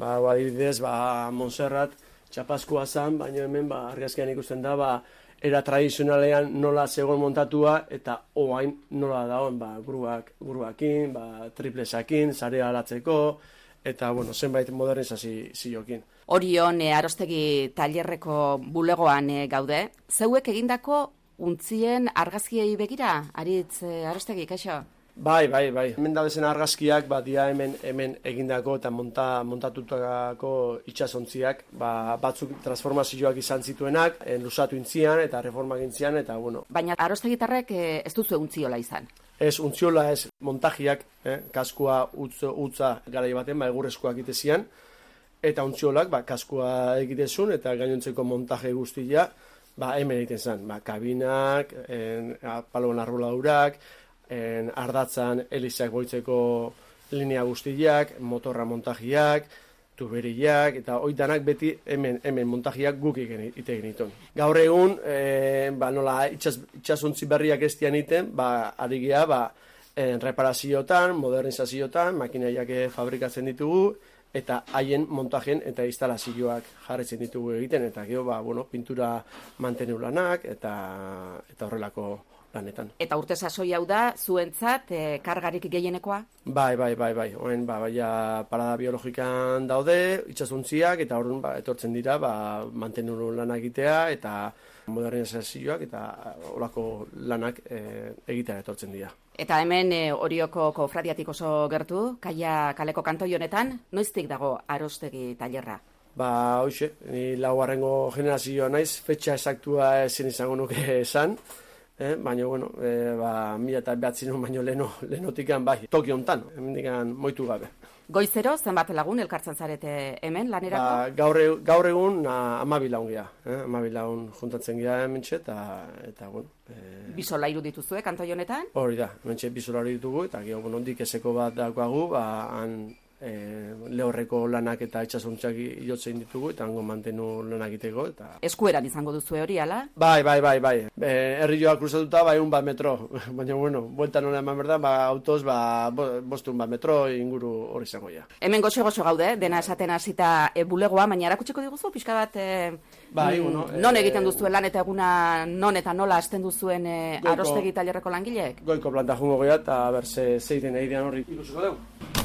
Adibidez, Montserrat txapazkoa zen, baina hemen argazkian ikusten da, era tradizionalean nola zegoen montatua, eta oain nola dagoen, gruakin, triplesakin, sarea alatzeko, eta, zenbait modernizazioekin. Orion, Arostegi tailerreko bulegoan gaude. Zeuek egindako untzien argazkiei begira, Aritz Arostegi, kaixo? Bai. Hemen dabezen argazkiak, dia hemen egindako eta montatutako itxasontziak, batzuk transformazioak izan zituenak, lusatu intzian eta reformak intzian, eta Baina Arostegitarrek ez duzu untziola izan? Ez, untziola ez, montajiak, kaskua utza garai baten, egurrezkoak itezian, eta untziolak, kaskua egitezun, eta gainontzeko montaje guztia, hemen egiten zen, kabinak, paloen arboladurak, ardatzan elizak boitzeko linea guztiak, motorra montajiak, tuberiak, eta oitanak beti hemen montajiak guk ite egiten. Gaur egun, nola itxasuntzi berriak ez dian iten, ari geha, reparazioetan, modernizazioetan, makinaiak fabrikatzen ditugu, eta haien montajen eta instalazioak jarretzen ditugu egiten, eta gero, pintura mantenu lanak, eta horrelako lanetan. Eta urte sasoi hau da, zuentzat, kargarik gehienekoa? Bai. Oen, parada biologikan daude, itxasuntziak, eta orduan, etortzen dira, mantenu lanak egitea, eta modernizazioak, eta horako lanak egitea etortzen dira. Eta hemen Orioko kofradiatik oso gertu, Kaia kaleko kantoi honetan, noiztik dago Arostegi tailerra? Hoxe, ni laugarrengo generazioa naiz, fetxa esaktua ezin izango nuke esan, baina, 1900 baino lehenotikan Tokio hontan, hemendikan moitu gabe. Goizero, zenbat lagun elkartzen zarete hemen lanerako? Gaur egun 12 lagun geha, 12 lagun juntatzen geha hementxe, eta Bisolairu dituzue kantoi honetan? Hori da, hementxe bisolairu ditugu, eta gero, ondik eseko bat daukagu, han lehorreko lanak eta itxasuntziak jotzen ditugu, eta hango mantenu lanak iteko. Eskueran izango duzue hori, ala? Bai. Herri joa kruzatuta, 1 metro. Baina, bueltan hona eman berda, autoz, 5 metro inguru hori izango ja. Hemen goxo-goxo gaude, dena esaten hasita bulegoa, baina erakutsiko diguzu, pixka bat, non egiten duzuen lan eta eguna non eta nola hasten duzuen Arostegi tailerreko langileek? Goiko planta jungo geha, eta berze zeiten egidean horri ikusiko dugu.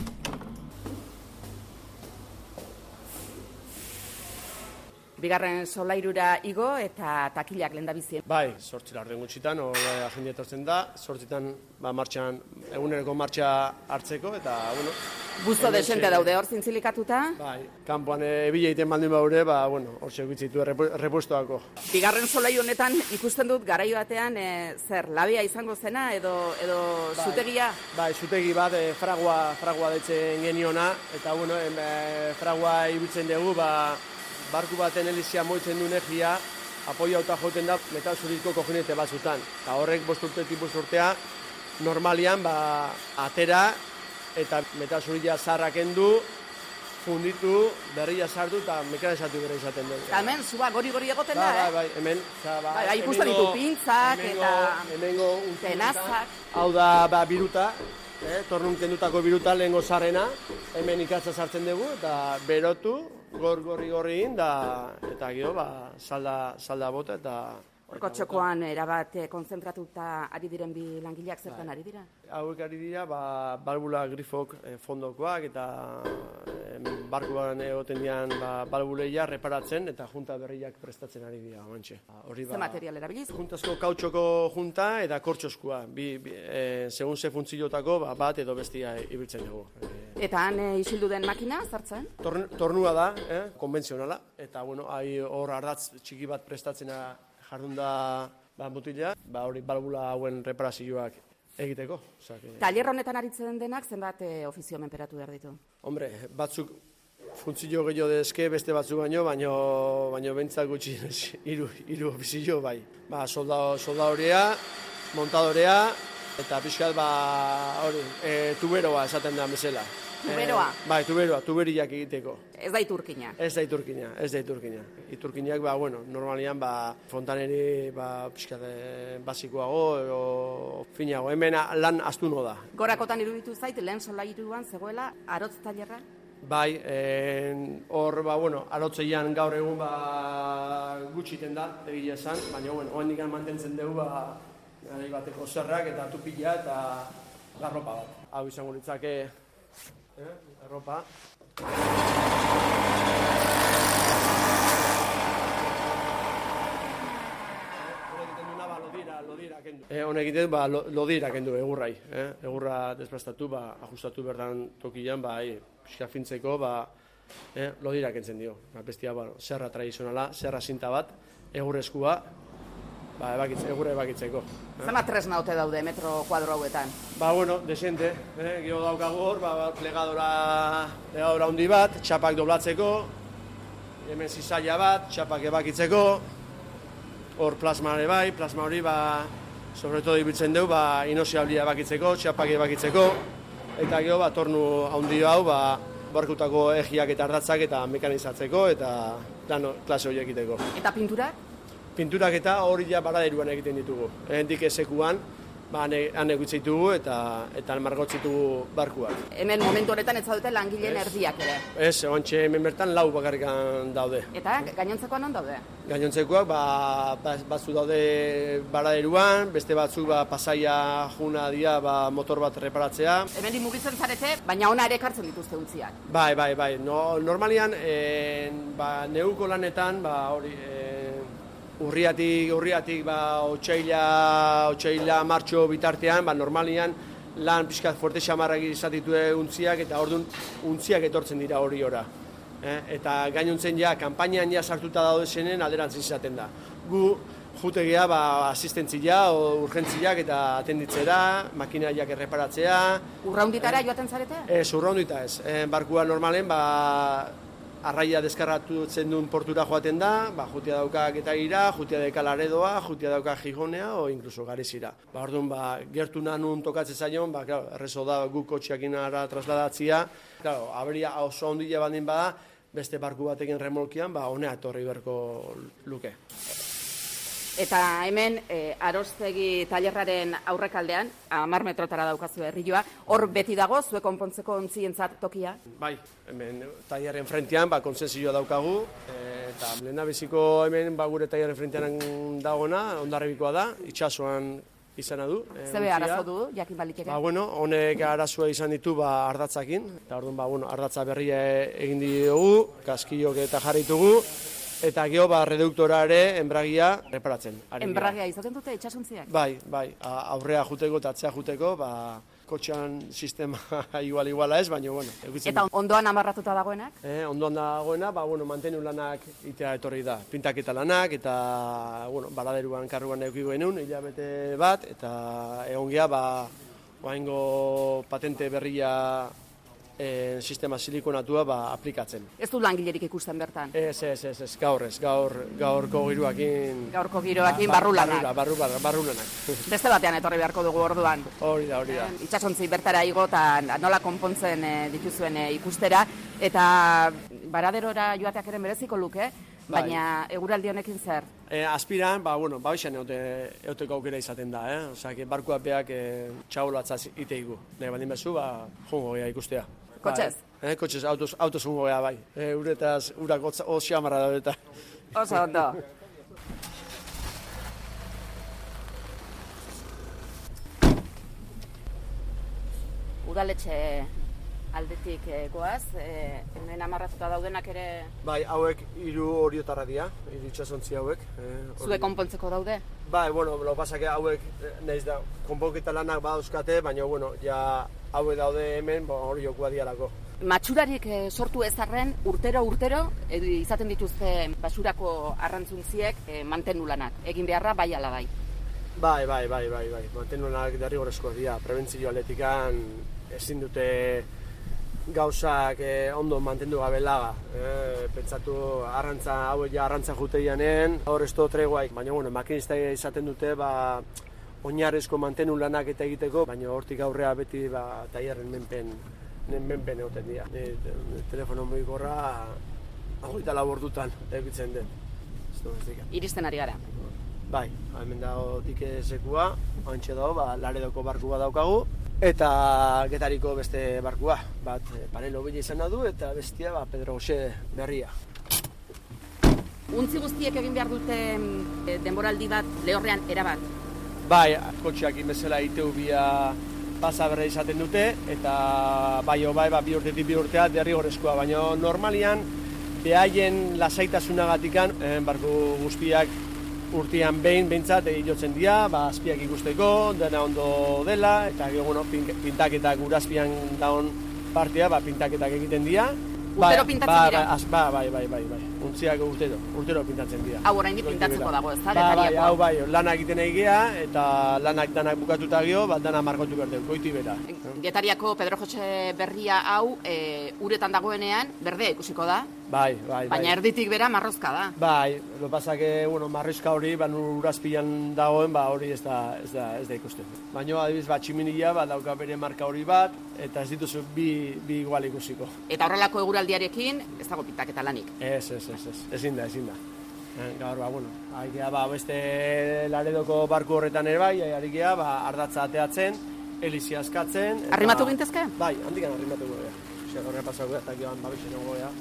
Bigarren solairura igo eta takilak lehendabizien. Bai, 8 laurden gutxitan, agenda etortzen da, 8etan martxan, eguneroko martxa hartzeko, eta, Busto desente daude hor zintzilikatuta? Bai, kanpoan ebile egiten baldin baure, hor segitzitu repuestoako. Bigarren solairu honetan ikusten dut garaio batean, labia izango zena, edo zutegia? Bai, zutegi bat, fragua detzen geniona, eta, fragua ibiltzen dugu, barku baten elizia moitzen du energia, apoia auta joten da metal zurizko kojinete batzutan. Eta horrek 5 urtea, normalian atera eta metal zurizia zarrak endu, funditu, berria sartu eta mekanizatu bera izaten dugu. Eta hemen, zuba, gori-gori egoten da, Bai, hemen. Ikusten ditu pintzak eta tenazak. Hau da biruta, tornun kendutako biruta lehengo zarrena, hemen ikatza sartzen dugu eta berotu, gorri eta gero salda bota eta... Horko txokoan erabat konzentratuta ari diren bi langileak zertan ari dira? Hauek ari dira, balbula grifok fondokoak eta barkuan egoten dian balbuleia reparatzen eta junta berriak prestatzen ari dira. Ze material erabiliz? Juntazko kautxoko junta eta kortxoskua. Segun ze funtziotako bat edo bestia ibiltzen dugu. Eta han isildu den makina zartzen? Tornua da, konbentzionala. Eta hor ardatz txiki bat prestatzen jardun da mutila, hori balbula hauen reparazioak egiteko. Tailer honetan aritzen denak zenbat ofizio menperatu behar ditu? Hombre, batzuk funtzio gehiago dezke, beste batzuk baino bentzak gutxi hiru ofizio bai. Soldadorea, montadorea, eta pixkat tuberoa esaten da bezala. Tuberoa? Bai, tuberiak egiteko. Ez da iturkina? Ez da iturkina. Iturkinak, normalian, fontaneri, pixkat, basikoago, edo finago. Hemen lan astuno da. Gorakotan iruditu zait, lehen solairuan zegoela, arotz tailerra? Bai, hor, arotzeian gaur egun gutxiten da, egia esan, baina, oendik mantentzen dugu, garai bateko zerrak eta tupila eta garropa bat. Hau izango litzake, garropa. Honek egiten lodira kendu egurrai. Egurra desplaztatu, ajustatu berdan tokian, pixka fintzeko, lodira kentzen dio. Bestia, zerra tradizionala, zerra zinta bat, egurreskua, egurra ebakitzeko. Zema tresna ote daude metro kuadro hauetan? Desente. Gero daukagu hor, plegadora handi bat, txapak doblatzeko, hemen zizaila bat, txapak ebakitzeko, hor plasma hori sobre todo ibiltzen dugu, inoziablia ebakitzeko, txapak ebakitzeko, eta gero tornu handi hau, barkutako egiak eta ardatzak eta mekanizatzeko, eta klase hori egiteko. Eta pinturak? Pinturak eta hori baraderuan egiten ditugu. Hendik ezekuan, han egitzeitugu eta margotzitugu barkuak. Hemen momentu honetan ez zaudete langileen erdiak ere? Ez, ontxe hemen bertan 4 bakarrikan daude. Eta gainontzekoan non daude? Gainontzekoak batzu daude baraderuan, beste batzuk Pasaia juna dira motor bat reparatzea. Hemen mugitzen zarete, baina ona ere ekartzen dituzte untziak. Bai. Normalian, neuko lanetan, urriatik otsaila martxo bitartean, normalian lan pixkat fuerte xamarrak izatitue untziak eta orduan untziak etortzen dira hori ora. Eta gainontzen kanpainan sartuta daude zenen alderantziz izaten da. Gu jutegea asistentzia o urgentziak eta atenditzera, makinaiak erreparatzea. Urraunditara joaten zarete? Ez, urraundita ez. Barkua normalen arraia deskarratutzen duen portura joaten da, jutia dauka Getaira, jutia dauka Laredoa, jutia dauka Gijonea, o inkluso Garizira. Orduan, gertu nanun tokatzen zaion, errezo da guk kotxeakin ara trasladatzia. Aberia oso ondile bandin bada, beste barku batekin remolkian, honea etorri berko luke. Eta hemen, Arostegi tailerraren aurrekaldean, 10 metrotara daukazu herrioa, hor beti dago, zuek konpontzeko ontzientzat tokia? Bai, hemen tailerren frentean, konsensioa daukagu, eta lehendabiziko hemen gure tailerren frentean dagona, Hondarribikoa da, itsasoan izana du. Zebe arazo du, jakin baliteke? Honek arazoa izan ditu ardatzakin, eta orduan, ardatza berria egin diogu, kaskilok eta jarritugu, eta geho reduktora ere enbragia reparatzen. Enbragia izaten dute itxasuntziak? Bai, aurrea juteko eta atzea juteko, kotxean sistema iguala ez, baina, Eta ondoan amarratuta dagoenak? Ondoan dagoena, mantenu lanak itea etorri da. Pintaketa lanak, eta, baladeruan karruan eukiko genuen, hilabete bat, eta egon geha, oaingo patente berria sistema silikonatua aplikatzen. Ez du langilerik ikusten bertan? Ez, gaurko giroakin... Gaurko giroakin barrulanak. Barrulanak. Beste batean etorri beharko dugu orduan. Hori da. Itxasontzi bertara igo eta nola konpontzen dituzuen ikustera, eta baraderora joateak ere mereziko luke, baina eguraldi honekin zer? Aspiran, babixan euteko aukera izaten da, Osea, barkuak beak txabolatzaz iteigu. Nahi baldin bezu, jongo gea ikustea. Kotxez? Kotxez, autoz jongo gea, bai. Uretaz, urak oso amarra da eta. Oso ondo. Udaletxe aldetik goaz, hemen amarratuta daudenak ere... Bai, hauek 3 oriotarra dira, 3 itxasontzi hauek. Zue konpontzeko daude? Bai, lo pasake hauek, nahiz da, konponketa lanak badauzkate, baina, hauek daude hemen, oriokua dialako. Matxurarik sortu ezarren, urtero, izaten dituzte basurako arrantzuntziek mantenu lanak. Egin beharra, bai ala bai? Bai. Mantenu lanak derrigorrezkoak dira. Prebentzio aletikan ezin dute gauzak ondo mantendu gabe laga. Pentsatu arrantza juteianen, hor ez tregua, baina makinista izaten dute oinarrezko mantenu lanak eta egiteko, baina hortik aurrea beti tailerren menpen egoten dira. Telefono mugikorra 24 ordutan egitzen den. Iristen ari gara? Bai, hemen dago dike sekua, hantxe dago, Laredoko barku bat daukagu, Eta Getariko beste barkua, bat Panelo bila izan du eta bestia Pedro Jose Berria. Untzi guztiek egin behar dute denboraldi bat lehorrean erabat? Bai, kotxeak inbezela iteu bia pasa berra izaten dute, eta bai, bi urtetik bi urtea derrigorrezkoa, baina normalian behaien lasaitasunagatikan barku guztiak urtean behintzat jotzen dira, azpiak ikusteko, dena ondo dela, eta pintaketak urazpian daun partea, pintaketak egiten dira. Urtero pintatzen dira? Bai. Untziak urtero pintatzen dira. Hau oraindik pintatzeko dago, ez da? Bai, lana egiten egea, eta lanak danak bukatuta gio, dana margotu berdeu, goiti bera. Getariako Pedro Jose Berria hau, uretan dagoenean, berdea ikusiko da? Bai. Baina erditik bera marrozka da? Bai, lo pasake, marrizka hori, urazpilan dagoen, hori ez da ikusten. Baina, adibiz, tximinila, dauka bere marka hori bat, eta ez dituzu bi igual ikusiko. Eta horrelako eguraldiarekin, ez dago pintaketa lanik? Ezin da. Gaur, beste Laredoko barku horretan ere bai, harikea, ardatza ateatzen, elizia askatzen. Arrimatu gintezke? Bai, handikan arrimatu goea. Horrean pasako eta gioan babixen goea.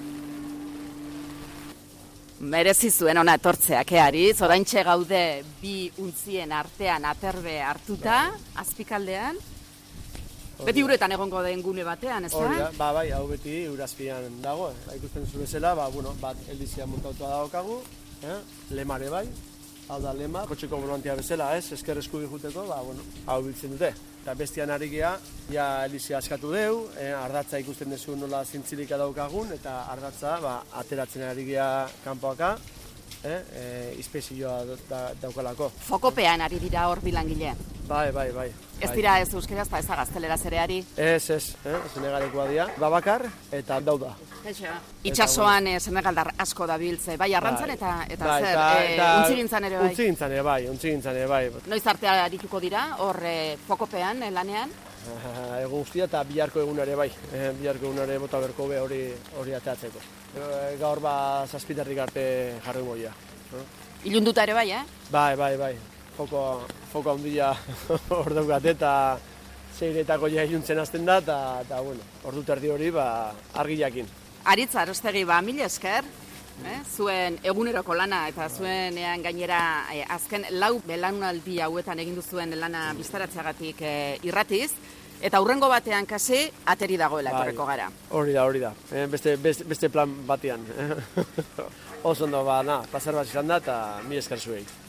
Merezi zuen ona etortzeak, Ariz, oraintxe gaude bi untzien artean aterbe hartuta, azpikaldean. Beti uretan egongo den gune batean, ez da? Bai, hau beti urazpian dago. Ikusten zu bezala, bat eldizia montautua dagokagu, lemare bai, hau da lema, kotxeko volantia bezala, esker eskubi juteko, hau biltzen dute. Eta bestian ari geha, ja eldizia askatu deu, ardatza ikusten dezu nola zintzilika daukagun, eta ardatza ateratzen ari geha kanpoaka, izpezioa daukalako. Fokopean ari dira hor bilangile? Bai. Ez dira ez euskeraz, ez da gazteleraz ere ari? Ez senegalikoa dira. Babakar eta dauda. Itxasoan senegaldar asko da biltze, bai arrantzan eta zer, untzigintzan ere bai? Untzigintzan ere bai. Noiz artea arituko dira, hor fokopean, lanean? Egun guztia eta biharko egunare bai. Biharko egunare bota berko be hori ateatzeko. Gaur zazpitarrik arte jarri moia. Ilunduta ere bai, Bai. Foko handia hor daukat eta zeiretako iluntzen hasten da, eta ordu terdi hori argi jakin. Aritz Arostegi, mila esker, zuen eguneroko lana eta zuenean gainera azken 4 belaunaldi hauetan egin duzuen lana biztaratzeagatik irratiz, eta hurrengo batean kasi ateri dagoela etorreko gara. Hori da. Beste plan batean. Oso ondo, pasar bat izan da eta mila esker zuei.